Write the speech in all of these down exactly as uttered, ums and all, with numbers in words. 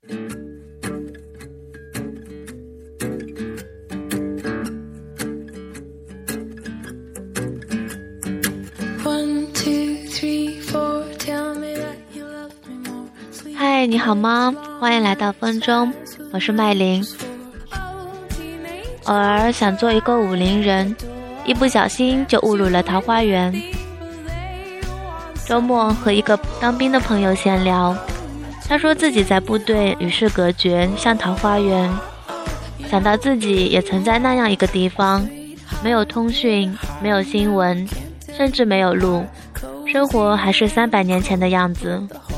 嗨，你好吗？欢迎来到风中，我是麦琳。偶尔想做一个武林人，一不小心就误入了桃花源。周末和一个当兵的朋友闲聊，他说自己在部队与世隔绝，像桃花源。想到自己也曾在那样一个地方，没有通讯，没有新闻，甚至没有路，生活还是三百年前的样子。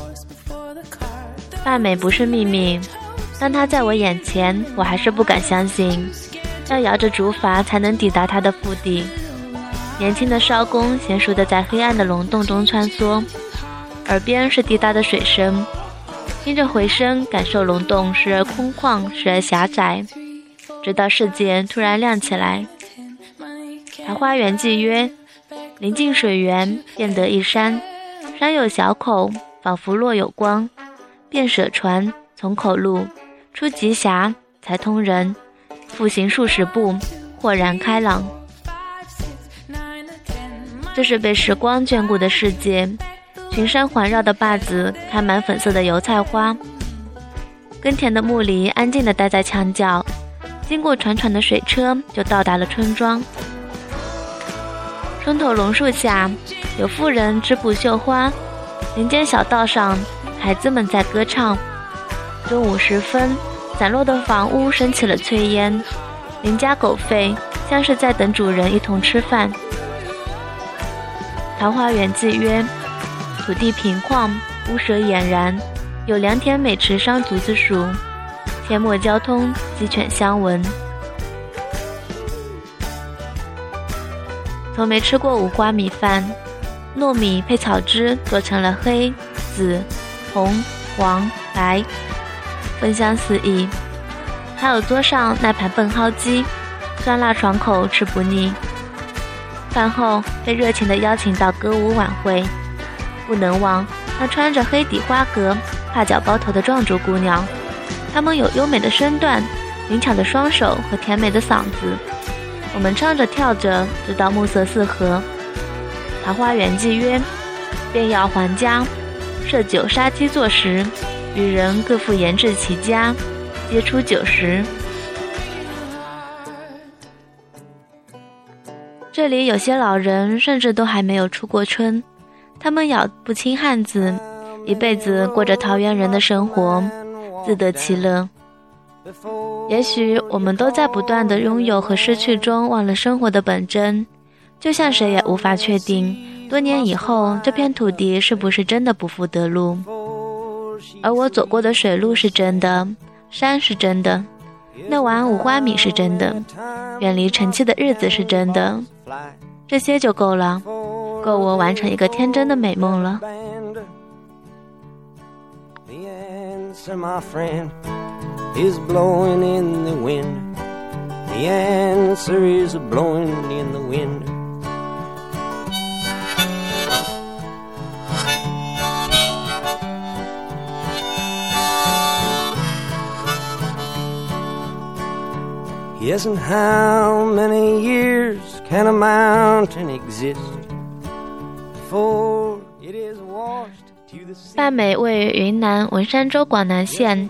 罢美不是秘密，当他在我眼前，我还是不敢相信，要摇着竹筏才能抵达他的腹地。年轻的艄公娴熟地在黑暗的溶洞中穿梭，耳边是滴答的水声，听着回声，感受溶洞时而空旷，时而狭窄，直到世界突然亮起来。桃花源记曰，临近水源，便得一山，山有小口，仿佛若有光，便舍船，从口入，出极狭，才通人，复行数十步，豁然开朗。这是被时光眷顾的世界，群山环绕的坝子开满粉色的油菜花，耕田的牧犁安静地待在墙角，经过船船的水车就到达了村庄。村头榕树下有妇人织布绣花，林间小道上孩子们在歌唱。中午时分，散落的房屋升起了炊烟，邻家狗吠，像是在等主人一同吃饭。桃花源记曰，土地平旷，屋舍俨然，有良田美池桑竹子树，阡陌交通，鸡犬相闻。从没吃过五花米饭，糯米配草汁做成了黑、紫、红、黄、白，芬香四溢。还有桌上那盘笨蒿鸡，酸辣爽口，吃不腻。饭后被热情地邀请到歌舞晚会，不能忘那穿着黑底花格、帕脚包头的壮族姑娘，她们有优美的身段、灵巧的双手和甜美的嗓子。我们唱着跳着，直到暮色四合。桃花源记曰，便要还家，设酒杀鸡作食，与人各复研制其家，皆出酒食。这里有些老人甚至都还没有出过村，他们咬不清汉字，一辈子过着桃源人的生活，自得其乐。也许我们都在不断的拥有和失去中忘了生活的本真，就像谁也无法确定多年以后这片土地是不是真的不复得路。而我走过的水路是真的，山是真的，那碗五花米是真的，远离尘气的日子是真的，这些就够了，够我完成一个天真的美梦了。 Is blowing in the wind. The answer is blowing in the wind. Yes, and how many years can a mountain exist before it is washed to the sea? 罢美位于云南文山州广南县，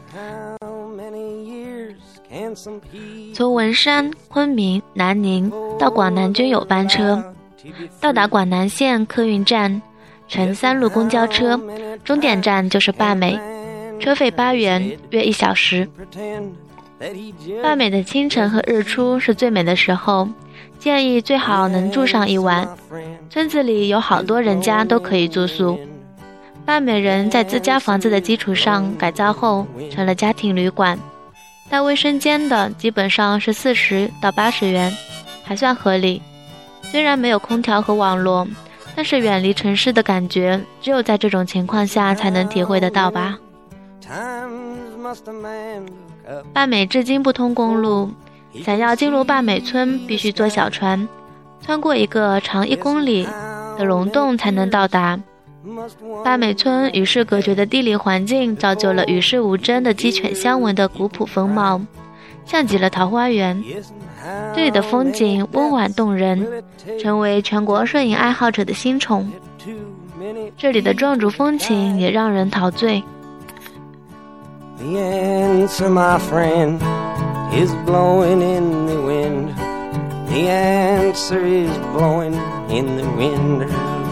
从文山、昆明、南宁到广南均有班车，到达广南县客运站，乘三路公交车，终点站就是罢美，车费八元，约一小时。罢美的清晨和日出是最美的时候，建议最好能住上一晚。村子里有好多人家都可以住宿。罢美人在自家房子的基础上改造后，成了家庭旅馆。带卫生间的基本上是四十到八十元，还算合理。虽然没有空调和网络，但是远离城市的感觉，只有在这种情况下才能体会得到吧。罢美至今不通公路，想要进入罢美村必须坐小船，穿过一个长一公里的溶洞才能到达。 八美村与世隔绝的地理环境造就了与世无争的鸡犬相闻的古朴风貌，像极了桃花源。这里的风景温婉动人，成为全国摄影爱好者的新宠。这里的壮族风情也让人陶醉。 The answer, my friend, is blowing in the wind. The answer is blowing in the wind.